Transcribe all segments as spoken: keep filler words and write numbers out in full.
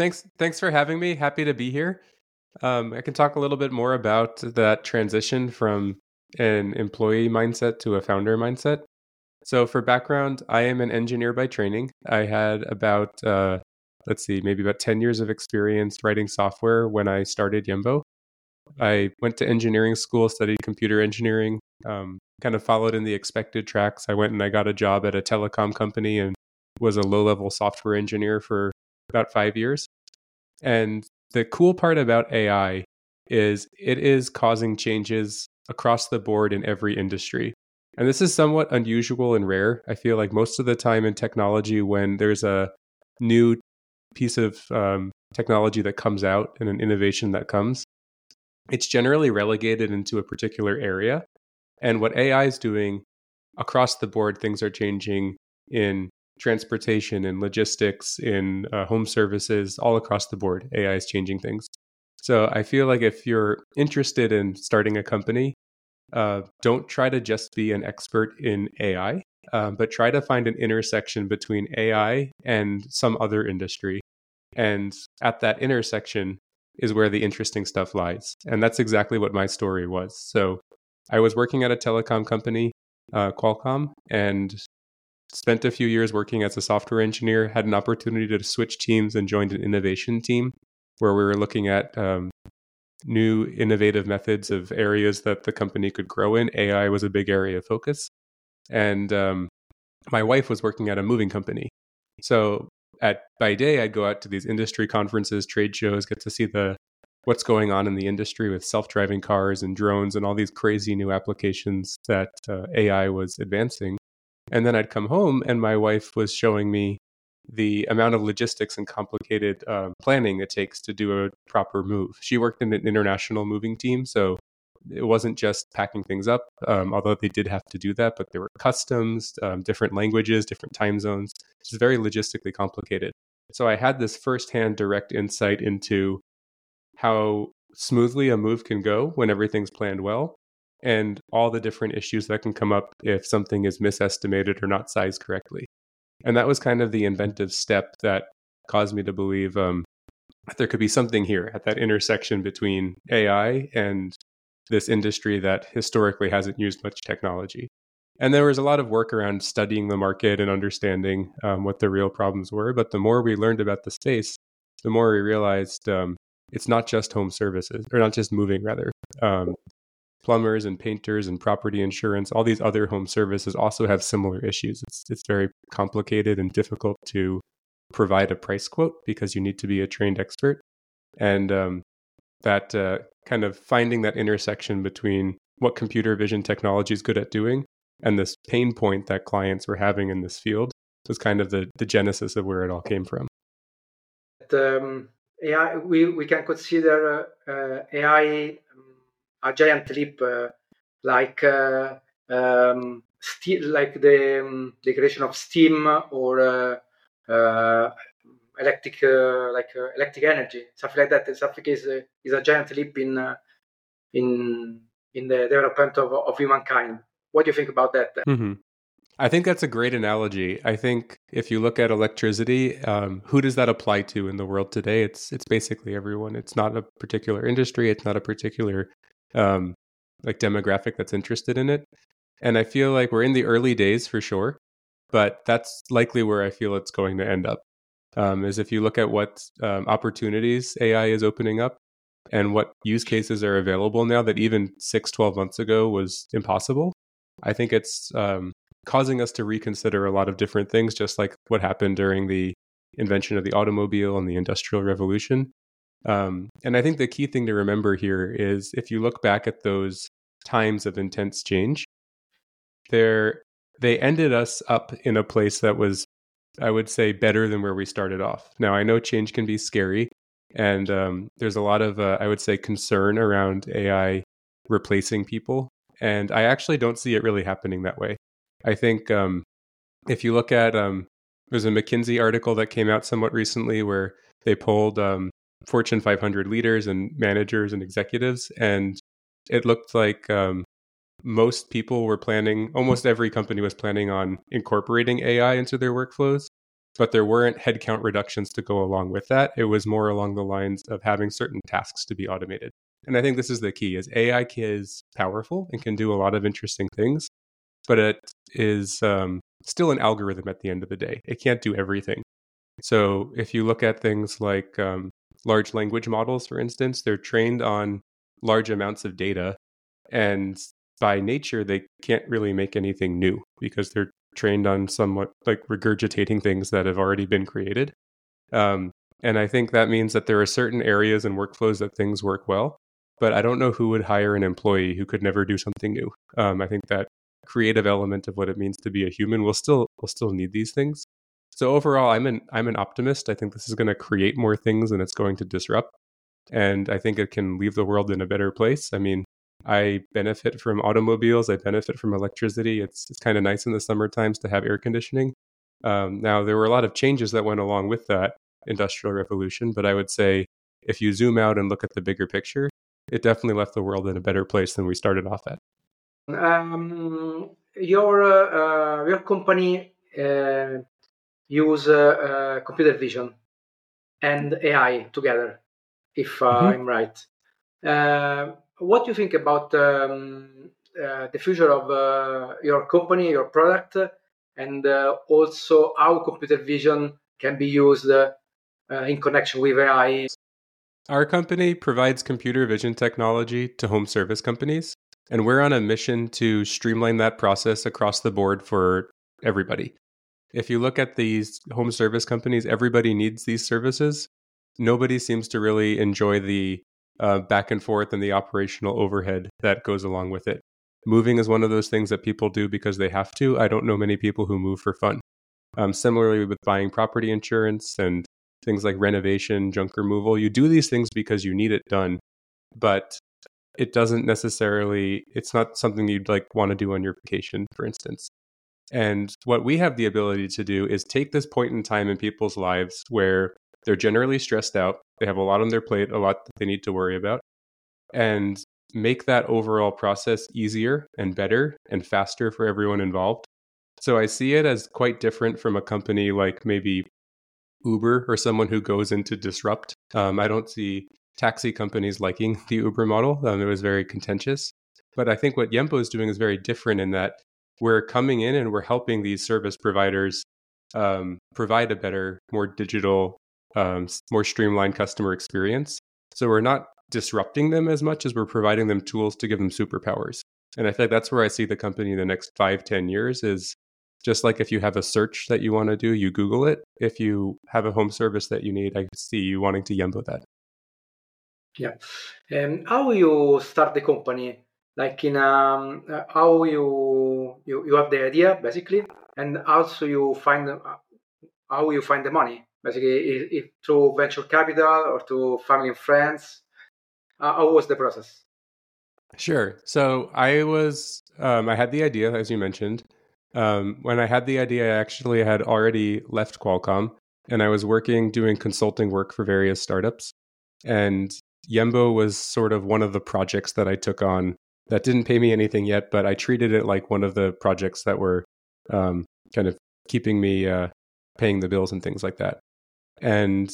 thanks thanks for having me. Happy to be here. Um, I can talk a little bit more about that transition from an employee mindset to a founder mindset. So for background, I am an engineer by training. I had about, uh, let's see, maybe about ten years of experience writing software when I started Yembo. I went to engineering school, studied computer engineering, um, kind of followed in the expected tracks. I went and I got a job at a telecom company and was a low-level software engineer for about five years. And the cool part about A I is it is causing changes across the board in every industry. And this is somewhat unusual and rare. I feel like most of the time in technology, when there's a new piece of um, technology that comes out and an innovation that comes, it's generally relegated into a particular area. And what A I is doing across the board, things are changing in transportation, in logistics, in uh, home services, all across the board. A I is changing things. So I feel like if you're interested in starting a company, uh, don't try to just be an expert in A I, uh, but try to find an intersection between A I and some other industry. And at that intersection is where the interesting stuff lies. And that's exactly what my story was. So I was working at a telecom company, uh, Qualcomm, and spent a few years working as a software engineer, had an opportunity to switch teams and joined an innovation team where we were looking at um, new innovative methods of areas that the company could grow in. A I was a big area of focus. And um, my wife was working at a moving company. So at by day, I'd go out to these industry conferences, trade shows, get to see the what's going on in the industry with self-driving cars and drones and all these crazy new applications that uh, A I was advancing. And then I'd come home and my wife was showing me the amount of logistics and complicated uh, planning it takes to do a proper move. She worked in an international moving team, so it wasn't just packing things up, um, although they did have to do that, but there were customs, um, different languages, different time zones. It's very logistically complicated. So I had this firsthand direct insight into how smoothly a move can go when everything's planned well, and all the different issues that can come up if something is misestimated or not sized correctly. And that was kind of the inventive step that caused me to believe um, that there could be something here at that intersection between A I and this industry that historically hasn't used much technology. And there was a lot of work around studying the market and understanding um, what the real problems were. But the more we learned about the space, the more we realized um, it's not just home services, or not just moving, rather. Um, plumbers and painters and property insurance, all these other home services also have similar issues. It's it's very complicated and difficult to provide a price quote because you need to be a trained expert. And um, that uh, kind of finding that intersection between what computer vision technology is good at doing and this pain point that clients were having in this field was kind of the, the genesis of where it all came from. Um, A I, we, we can consider uh, A I a giant leap, uh, like uh, um, st- like the um, the creation of steam or uh, uh, electric, uh, like uh, electric energy, something like that. Something is uh, is a giant leap in uh, in in the development of of humankind. What do you think about that? Mm-hmm. I think that's a great analogy. I think if you look at electricity, um, who does that apply to in the world today? It's it's basically everyone. It's not a particular industry. It's not a particular um, like demographic that's interested in it. And I feel like we're in the early days for sure, but that's likely where I feel it's going to end up. Um, is if you look at what um, opportunities A I is opening up and what use cases are available now that even six, twelve months ago was impossible. I think it's um, causing us to reconsider a lot of different things, just like what happened during the invention of the automobile and the Industrial Revolution. Um, and I think the key thing to remember here is if you look back at those times of intense change, they're, they ended us up in a place that was, I would say, better than where we started off. Now, I know change can be scary, and um, there's a lot of, uh, I would say, concern around A I replacing people. And I actually don't see it really happening that way. I think um, if you look at, um, there's a McKinsey article that came out somewhat recently where they polled um, Fortune five hundred leaders and managers and executives, and it looked like um, most people were planning, almost every company was planning on incorporating A I into their workflows. but there weren't headcount reductions to go along with that. It was more along the lines of having certain tasks to be automated. And I think this is the key: is A I is powerful and can do a lot of interesting things, but it is um, still an algorithm at the end of the day. It can't do everything. So if you look at things like um, large language models, for instance, they're trained on large amounts of data, and by nature, they can't really make anything new because they're trained on somewhat like regurgitating things that have already been created. Um, and I think that means that there are certain areas and workflows that things work well, but I don't know who would hire an employee who could never do something new. Um, I think that creative element of what it means to be a human will still will still need these things. So overall, I'm an I'm an optimist. I think this is going to create more things and it's going to disrupt. And I think it can leave the world in a better place. I mean, I benefit from automobiles. I benefit from electricity. It's it's kind of nice in the summer times to have air conditioning. Um, now, there were a lot of changes that went along with that industrial revolution, but I would say if you zoom out and look at the bigger picture, it definitely left the world in a better place than we started off at. Um, your uh, your company uh, use uh, uh, computer vision and A I together, if uh, mm-hmm. I'm right. Uh, what do you think about um, uh, the future of uh, your company, your product, and uh, also how computer vision can be used uh, uh, in connection with A I? Our company provides computer vision technology to home service companies, and we're on a mission to streamline that process across the board for everybody. If you look at these home service companies, everybody needs these services. Nobody seems to really enjoy the uh, back and forth and the operational overhead that goes along with it. Moving is one of those things that people do because they have to. I don't know many people who move for fun. Um, similarly with buying property insurance and things like renovation, junk removal, you do these things because you need it done, but it doesn't necessarily, it's not something you'd like want to do on your vacation, for instance. And what we have the ability to do is take this point in time in people's lives where they're generally stressed out, they have a lot on their plate, a lot that they need to worry about, and make that overall process easier and better and faster for everyone involved. So I see it as quite different from a company like maybe Uber or someone who goes in to disrupt. Um, I don't see taxi companies liking the Uber model. Um, it was very contentious. But I think what Yempo is doing is very different in that we're coming in and we're helping these service providers um, provide a better, more digital, um, more streamlined customer experience. So we're not disrupting them as much as we're providing them tools to give them superpowers. And I think that's where I see the company in the next five, ten years is just like if you have a search that you want to do, you Google it. If you have a home service that you need, I see you wanting to Yempo that. Yeah. Um, how you start the company? Like in um, uh, how you, you you have the idea basically, and also you find uh, how you find the money basically, if, if through venture capital or to family and friends. Uh, how was the process? Sure. So I was um, I had the idea, as you mentioned. Um, when I had the idea, I actually had already left Qualcomm, and I was working doing consulting work for various startups. And Yempo was sort of one of the projects that I took on that didn't pay me anything yet, but I treated it like one of the projects that were um, kind of keeping me uh, paying the bills and things like that. And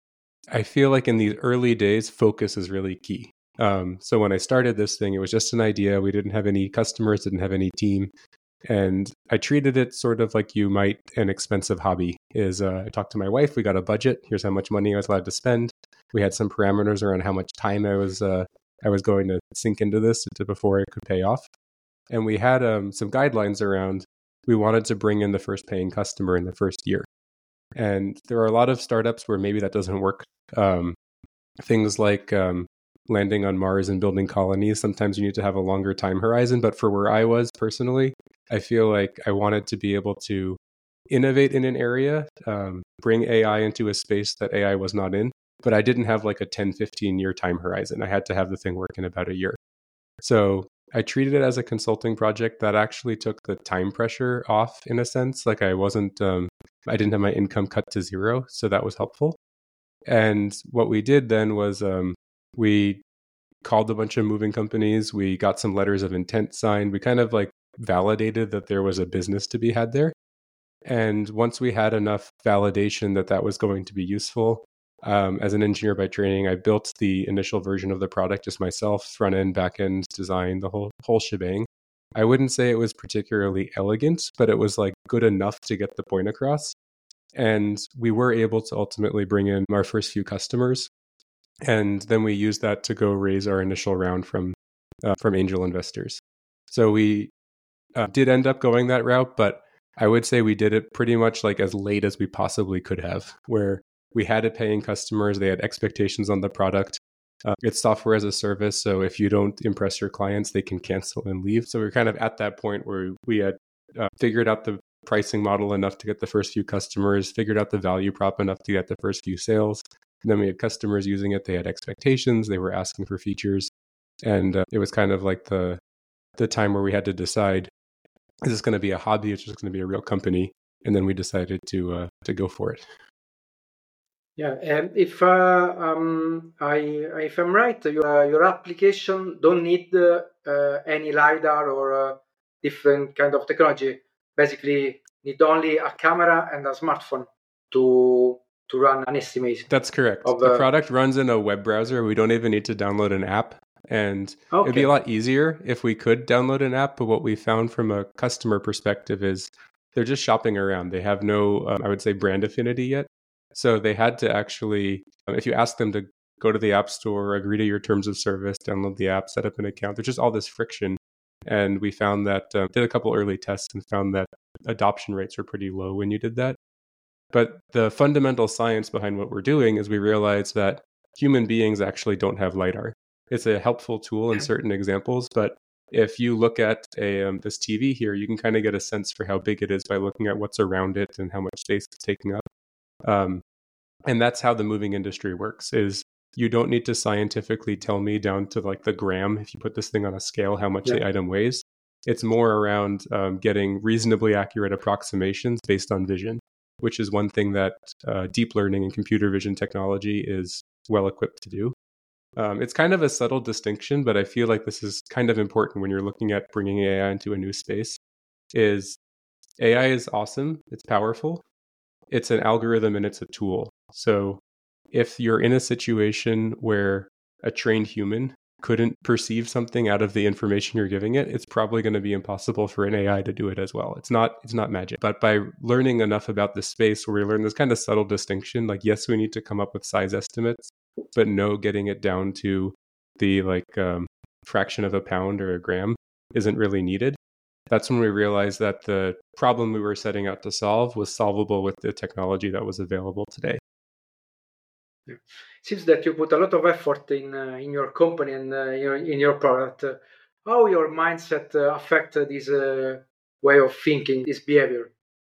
I feel like in these early days, focus is really key. Um, so when I started this thing, it was just an idea. We didn't have any customers, didn't have any team. And I treated it sort of like you might an expensive hobby is uh, I talked to my wife, we got a budget. Here's how much money I was allowed to spend. We had some parameters around how much time I was uh, I was going to sink into this to, before it could pay off. And we had um, some guidelines around, we wanted to bring in the first paying customer in the first year. And there are a lot of startups where maybe that doesn't work. Um, things like um, landing on Mars and building colonies, sometimes you need to have a longer time horizon. But for where I was personally, I feel like I wanted to be able to innovate in an area, um, bring A I into a space that A I was not in. But I didn't have like a ten, fifteen year time horizon. I had to have the thing work in about a year. So I treated it as a consulting project that actually took the time pressure off in a sense. Like I wasn't, um, I didn't have my income cut to zero. So that was helpful. And what we did then was um, we called a bunch of moving companies. We got some letters of intent signed. We kind of like validated that there was a business to be had there. And once we had enough validation that that was going to be useful, um, as an engineer by training, I built the initial version of the product just myself, front end, back end, design, the whole whole shebang. I wouldn't say it was particularly elegant, but it was like good enough to get the point across. And we were able to ultimately bring in our first few customers. And then we used that to go raise our initial round from uh, from angel investors. So we uh, did end up going that route, but I would say we did it pretty much like as late as we possibly could have, where we had it paying customers, they had expectations on the product. Uh, it's software as a service, so if you don't impress your clients, they can cancel and leave. So we're kind of at that point where we had uh, figured out the pricing model enough to get the first few customers, figured out the value prop enough to get the first few sales. And then we had customers using it, they had expectations, they were asking for features. And uh, it was kind of like the the time where we had to decide, is this going to be a hobby? It's just going to be a real company. And then we decided to uh, to go for it. Yeah, and if uh, um, I if I'm right, your uh, your application don't need uh, uh, any LiDAR or uh, different kind of technology. Basically, need only a camera and a smartphone to to run an estimate. That's correct. Of, the uh, product runs in a web browser. We don't even need to download an app. And okay. It'd be a lot easier if we could download an app. But what we found from a customer perspective is they're just shopping around. They have no, um, I would say, brand affinity yet. So they had to actually, um, if you ask them to go to the App Store, agree to your terms of service, download the app, set up an account, there's just all this friction. And we found that, um, did a couple early tests and found that adoption rates were pretty low when you did that. But the fundamental science behind what we're doing is we realized that human beings actually don't have LiDAR. It's a helpful tool in certain examples, but if you look at a um, this T V here, you can kind of get a sense for how big it is by looking at what's around it and how much space it's taking up. Um, and that's how the moving industry works, is you don't need to scientifically tell me down to like the gram, if you put this thing on a scale, how much yeah. the item weighs. It's more around um, getting reasonably accurate approximations based on vision, which is one thing that uh, deep learning and computer vision technology is well equipped to do. Um, it's kind of a subtle distinction, but I feel like this is kind of important when you're looking at bringing A I into a new space, is A I is awesome. It's powerful. It's an algorithm and it's a tool. So if you're in a situation where a trained human couldn't perceive something out of the information you're giving it, it's probably going to be impossible for an A I to do it as well. It's not, it's not magic. But by learning enough about this space where we learn this kind of subtle distinction, like, yes, we need to come up with size estimates, but no, getting it down to the like um, fraction of a pound or a gram isn't really needed. That's when we realized that the problem we were setting out to solve was solvable with the technology that was available today. Yeah. Seems that you put a lot of effort in uh, in your company and uh, your, in your product. Uh, how your mindset uh, affect uh, this uh, way of thinking, this behavior?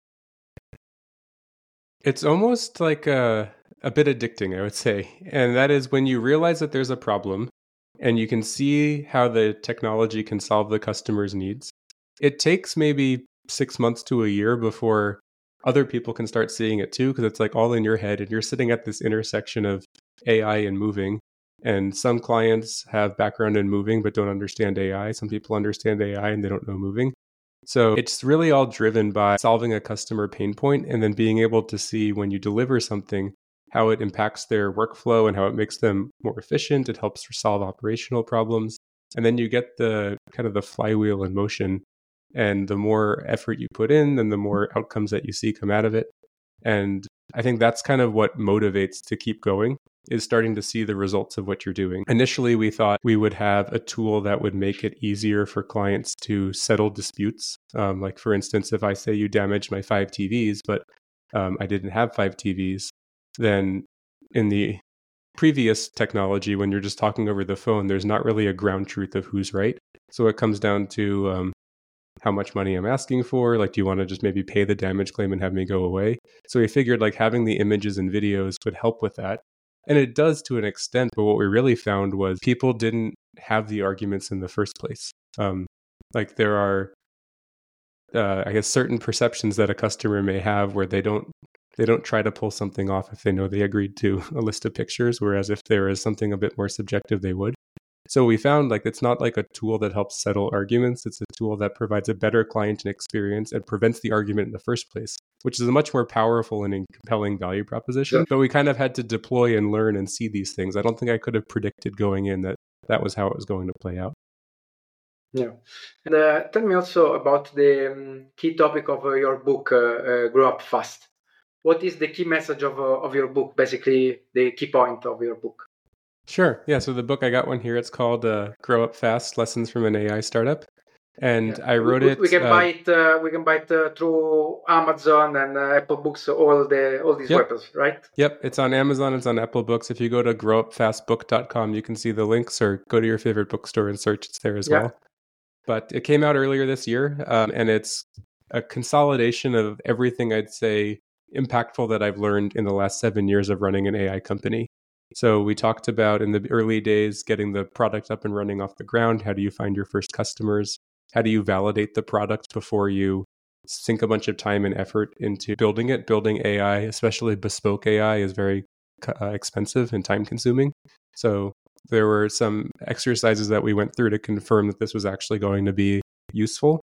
It's almost like a, a bit addicting, I would say. And that is when you realize that there's a problem and you can see how the technology can solve the customer's needs. It takes maybe six months to a year before other people can start seeing it too, because it's like all in your head and you're sitting at this intersection of A I and moving. And some clients have background in moving but don't understand A I. Some people understand A I and they don't know moving. So it's really all driven by solving a customer pain point and then being able to see when you deliver something, how it impacts their workflow and how it makes them more efficient. It helps solve operational problems. And then you get the kind of the flywheel in motion. And the more effort you put in, then the more outcomes that you see come out of it. And I think that's kind of what motivates to keep going, is starting to see the results of what you're doing. Initially, we thought we would have a tool that would make it easier for clients to settle disputes. Um, like, for instance, if I say you damaged my five T Vs, but um, I didn't have five T Vs, then in the previous technology, when you're just talking over the phone, there's not really a ground truth of who's right. So it comes down to um, how much money I'm asking for. Like, do you want to just maybe pay the damage claim and have me go away? So we figured like having the images and videos would help with that. And it does to an extent, but what we really found was people didn't have the arguments in the first place. Um, like there are, uh, I guess, certain perceptions that a customer may have where they don't they don't try to pull something off if they know they agreed to a list of pictures, whereas if there is something a bit more subjective, they would. So we found like it's not like a tool that helps settle arguments. It's a tool that provides a better client experience and prevents the argument in the first place. which is a much more powerful and compelling value proposition. Yeah. But we kind of had to deploy and learn and see these things. I don't think I could have predicted going in that that was how it was going to play out. Yeah. And uh, tell me also about the um, key topic of uh, your book, uh, uh, Grow Up Fast. What is the key message of, uh, of your book, basically the key point of your book? Sure. Yeah. So the book, I got one here. It's called uh, Grow Up Fast, Lessons from an A I Startup. And yeah. I wrote we, it. We can uh, buy it. Uh, we can buy it uh, through Amazon and uh, Apple Books, all the all these yep. websites, right? Yep, it's on Amazon. It's on Apple Books. If you go to grow up fast book dot com, you can see the links, or go to your favorite bookstore and search. It's there as yeah. well. But it came out earlier this year, um, and it's a consolidation of everything I'd say impactful that I've learned in the last seven years of running an A I company. So we talked about in the early days getting the product up and running off the ground. How do you find your first customers? How do you validate the product before you sink a bunch of time and effort into building it? Building A I, especially bespoke A I, is very uh, expensive and time consuming. So there were some exercises that we went through to confirm that this was actually going to be useful.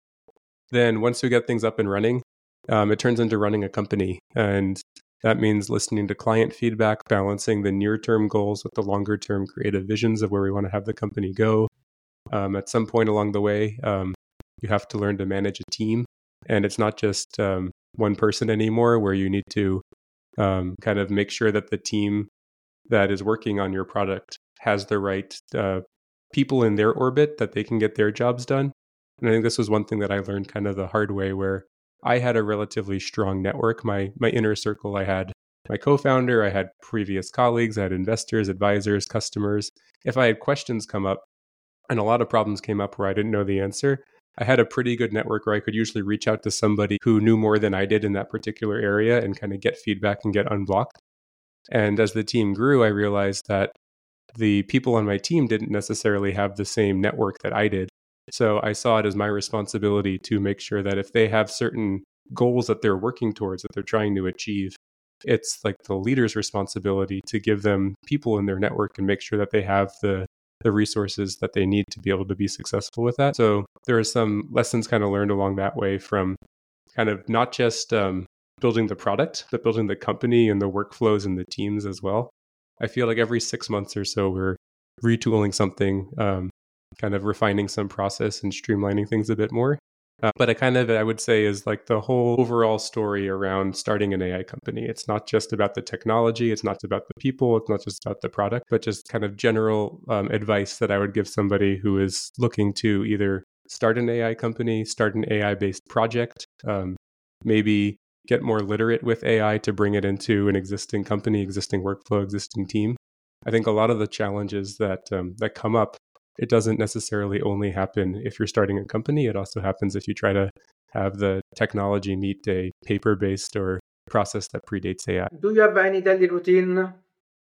Then once we get things up and running, um, it turns into running a company. And that means listening to client feedback, balancing the near-term goals with the longer-term creative visions of where we want to have the company go. Um, at some point along the way, um, you have to learn to manage a team. And it's not just um, one person anymore, where you need to um, kind of make sure that the team that is working on your product has the right uh, people in their orbit, that they can get their jobs done. And I think this was one thing that I learned kind of the hard way, where I had a relatively strong network. My my inner circle, I had my co-founder, I had previous colleagues, I had investors, advisors, customers. If I had questions come up, and a lot of problems came up where I didn't know the answer, I had a pretty good network where I could usually reach out to somebody who knew more than I did in that particular area and kind of get feedback and get unblocked. And as the team grew, I realized that the people on my team didn't necessarily have the same network that I did. So I saw it as my responsibility to make sure that if they have certain goals that they're working towards, that they're trying to achieve, it's like the leader's responsibility to give them people in their network and make sure that they have the the resources that they need to be able to be successful with that. So there are some lessons kind of learned along that way, from kind of not just um, building the product, but building the company and the workflows and the teams as well. I feel like every six months or so, we're retooling something, um, kind of refining some process and streamlining things a bit more. Uh, but I kind of, I would say, is like the whole overall story around starting an A I company. It's not just about the technology. It's not about the people. It's not just about the product, but just kind of general um, advice that I would give somebody who is looking to either start an A I company, start an A I-based project, um, maybe get more literate with A I to bring it into an existing company, existing workflow, existing team. I think a lot of the challenges that um, that come up, it doesn't necessarily only happen if you're starting a company. It also happens if you try to have the technology meet a paper-based or process that predates A I. Do you have any daily routine,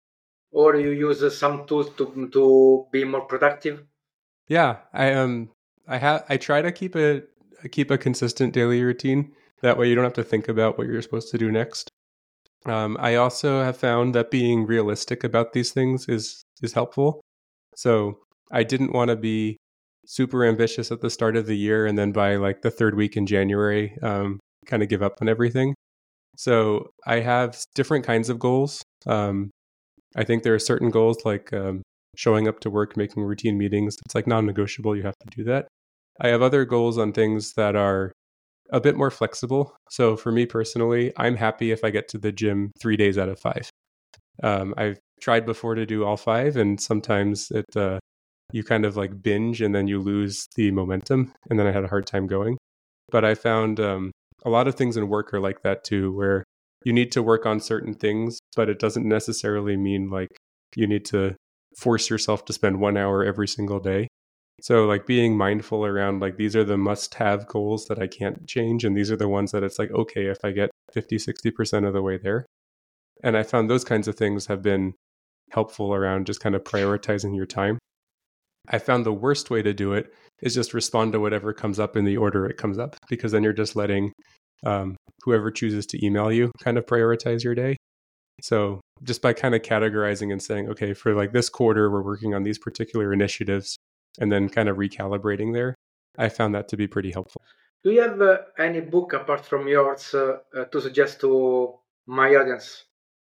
or you use some tools to to be more productive? Yeah, I um I have I try to keep a keep a consistent daily routine. That way you don't have to think about what you're supposed to do next. Um, I also have found that being realistic about these things is is helpful. So I didn't want to be super ambitious at the start of the year, and then by like the third week in January, um, kind of give up on everything. So I have different kinds of goals. Um, I think there are certain goals like um, showing up to work, making routine meetings. It's like non-negotiable. You have to do that. I have other goals on things that are a bit more flexible. So for me personally, I'm happy if I get to the gym three days out of five. Um, I've tried before to do all five, and sometimes it uh, you kind of like binge and then you lose the momentum. And then I had a hard time going. But I found um, a lot of things in work are like that too, where you need to work on certain things, but it doesn't necessarily mean like you need to force yourself to spend one hour every single day. So like being mindful around like, these are the must-have goals that I can't change. And these are the ones that it's like, okay, if I get fifty, sixty percent of the way there. And I found those kinds of things have been helpful around just kind of prioritizing your time. I found the worst way to do it is just respond to whatever comes up in the order it comes up, because then you're just letting um, whoever chooses to email you kind of prioritize your day. So just by kind of categorizing and saying, okay, for like this quarter, we're working on these particular initiatives, and then kind of recalibrating there, I found that to be pretty helpful. Do you have uh, any book apart from yours uh, uh, to suggest to my audience?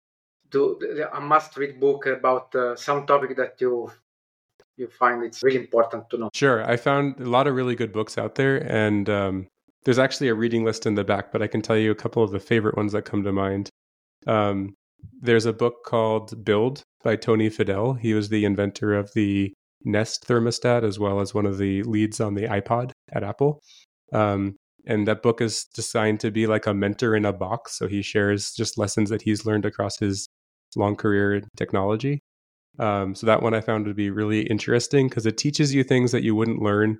Do a must-read book about uh, some topic that you you find it's really important to know? Sure. I found a lot of really good books out there, and um, there's actually a reading list in the back, but I can tell you a couple of the favorite ones that come to mind. Um, there's a book called Build by Tony Fadell. He was the inventor of the Nest thermostat, as well as one of the leads on the iPod at Apple. Um, and that book is designed to be like a mentor in a box. So he shares just lessons that he's learned across his long career in technology. Um, so that one I found to be really interesting because it teaches you things that you wouldn't learn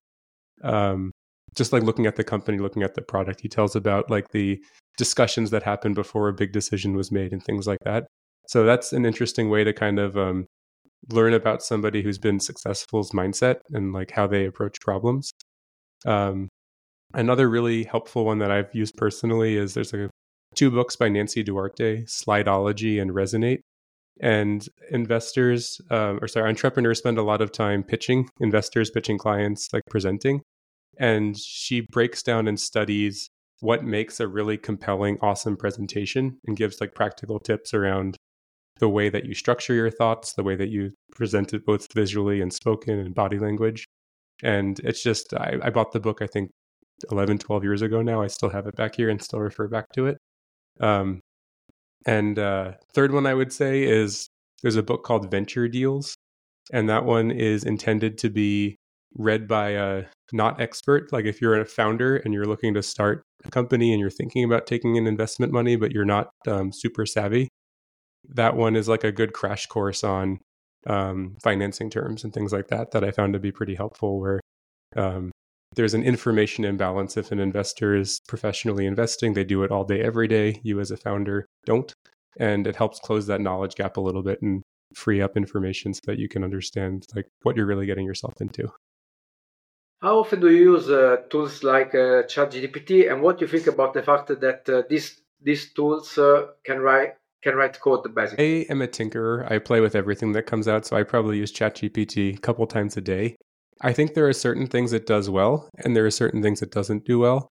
um, just like looking at the company, looking at the product. He tells about like the discussions that happened before a big decision was made and things like that. So that's an interesting way to kind of um, learn about somebody who's been successful's mindset and like how they approach problems. Um, another really helpful one that I've used personally is there's a, two books by Nancy Duarte, Slideology and Resonate. And investors, um, or sorry, entrepreneurs spend a lot of time pitching, investors pitching clients, like presenting. And she breaks down and studies what makes a really compelling, awesome presentation and gives like practical tips around the way that you structure your thoughts, the way that you present it both visually and spoken and body language. And it's just, I, I bought the book, I think eleven, twelve years ago now. I still have it back here and still refer back to it. Um, and uh, third one I would say is there's a book called Venture Deals. And that one is intended to be read by a not expert. Like if you're a founder and you're looking to start a company and you're thinking about taking in investment money, but you're not um, super savvy, that one is like a good crash course on um, financing terms and things like that, that I found to be pretty helpful, where um, there's an information imbalance. If an investor is professionally investing, they do it all day, every day. You as a founder don't. And it helps close that knowledge gap a little bit and free up information so that you can understand like what you're really getting yourself into. How often do you use uh, tools like uh, ChatGPT, and what do you think about the fact that uh, these these tools uh, can write can write code basically? I am a tinkerer. I play with everything that comes out, so I probably use ChatGPT a couple times a day. I think there are certain things it does well, and there are certain things it doesn't do well.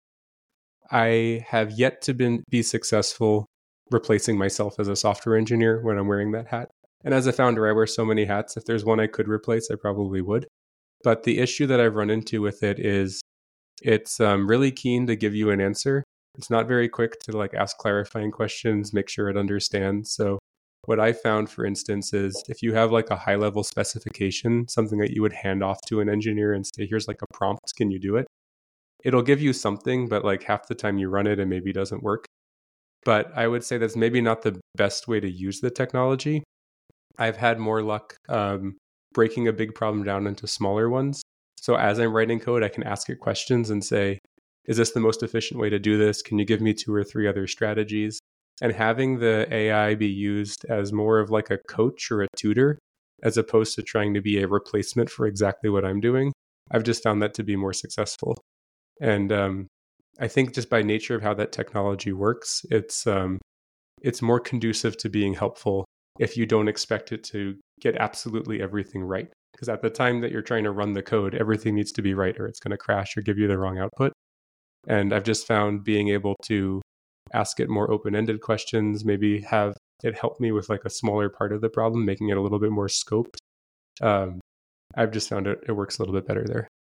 I have yet to been, be successful replacing myself as a software engineer when I'm wearing that hat. And as a founder, I wear so many hats. If there's one I could replace, I probably would. But the issue that I've run into with it is it's um, really keen to give you an answer. It's not very quick to like ask clarifying questions, make sure it understands. So what I found, for instance, is if you have like a high level specification, something that you would hand off to an engineer and say, here's like a prompt, can you do it? It'll give you something, but like half the time you run it and maybe it doesn't work. But I would say that's maybe not the best way to use the technology. I've had more luck um, breaking a big problem down into smaller ones. So as I'm writing code, I can ask it questions and say, is this the most efficient way to do this? Can you give me two or three other strategies? And having the A I be used as more of like a coach or a tutor, as opposed to trying to be a replacement for exactly what I'm doing, I've just found that to be more successful. And um, I think just by nature of how that technology works, it's um, it's more conducive to being helpful if you don't expect it to get absolutely everything right. Because at the time that you're trying to run the code, everything needs to be right or it's going to crash or give you the wrong output. And I've just found being able to ask it more open-ended questions, maybe have it help me with like a smaller part of the problem, making it a little bit more scoped. Um, I've just found it, it works a little bit better there.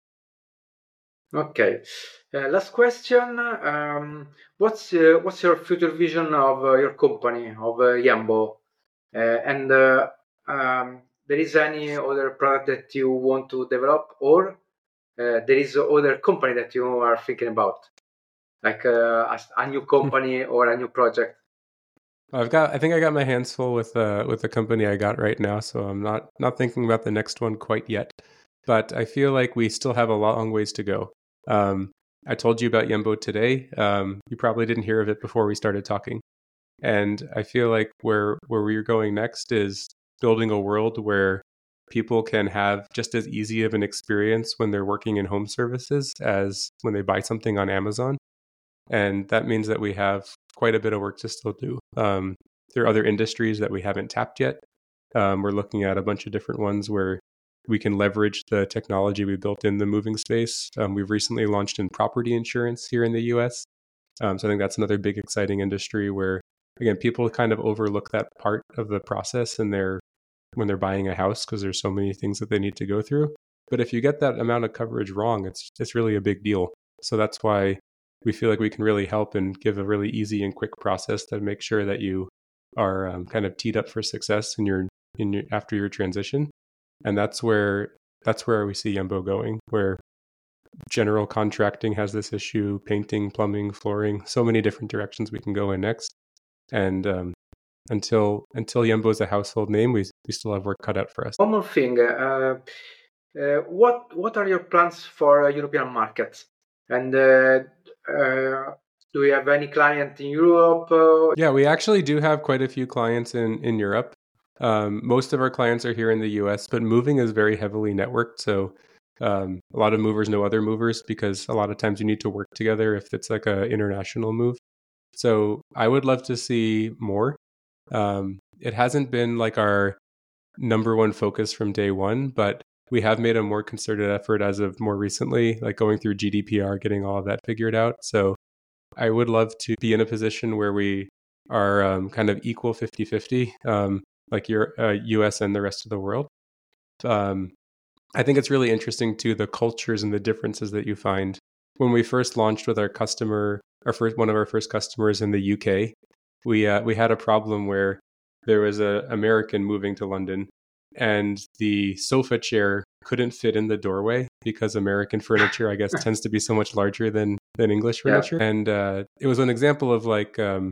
Okay. Uh, last question. Um, what's uh, what's your future vision of uh, your company, of uh, Yambo? Uh, and uh, um, there is any other product that you want to develop, or uh, there is other company that you are thinking about, like uh, a, a new company or a new project? I've got. I think I got my hands full with uh, with the company I got right now, so I'm not not thinking about the next one quite yet. But I feel like we still have a long ways to go. Um, I told you about Yembo today. Um, you probably didn't hear of it before we started talking. And I feel like where where we're going next is building a world where people can have just as easy of an experience when they're working in home services as when they buy something on Amazon. And that means that we have quite a bit of work to still do. Um, there are other industries that we haven't tapped yet. Um, we're looking at a bunch of different ones where we can leverage the technology we built in the moving space. Um, we've recently launched in property insurance here in the U S. Um, so I think that's another big exciting industry where, again, people kind of overlook that part of the process in their when they're buying a house because there's so many things that they need to go through. But if you get that amount of coverage wrong, it's it's really a big deal. So that's why we feel like we can really help and give a really easy and quick process to make sure that you are um, kind of teed up for success in your in your after your transition. And that's where that's where we see Yembo going, where general contracting has this issue, painting, plumbing, flooring, so many different directions we can go in next. And um, until until Yembo is a household name, we we still have work cut out for us. One more thing, uh, uh, what what are your plans for uh, European markets? And uh, uh, do you have any client in Europe? Uh? Yeah, we actually do have quite a few clients in in Europe. Um, most of our clients are here in the U S, but moving is very heavily networked. So um, a lot of movers know other movers because a lot of times you need to work together if it's like an international move. So I would love to see more. Um, it hasn't been like our number one focus from day one, but we have made a more concerted effort as of more recently, like going through G D P R, getting all of that figured out. So I would love to be in a position where we are um, kind of equal fifty-fifty. Um, like your uh, U S and the rest of the world. Um, I think it's really interesting too, the cultures and the differences that you find. When we first launched with our customer, our first one of our first customers in the U K, we uh, we had a problem where there was an American moving to London, and the sofa chair couldn't fit in the doorway because American furniture, I guess, tends to be so much larger than than English furniture. Yeah. And uh, it was an example of like um,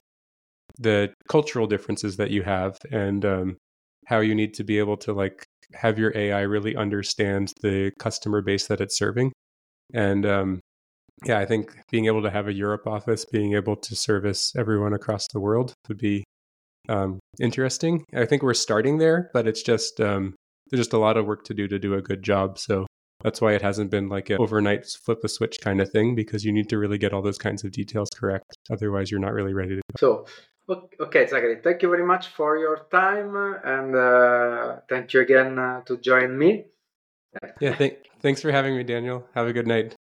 the cultural differences that you have and um, how you need to be able to like have your A I really understand the customer base that it's serving. And um, yeah, I think being able to have a Europe office, being able to service everyone across the world would be um, interesting. I think we're starting there, but it's just um, there's just a lot of work to do to do a good job. So that's why it hasn't been like an overnight flip a switch kind of thing, because you need to really get all those kinds of details correct. Otherwise, you're not really ready to go. So, okay, Zachary, thank you very much for your time, and uh, thank you again uh, to join me. Yeah, th- thanks for having me, Daniel. Have a good night.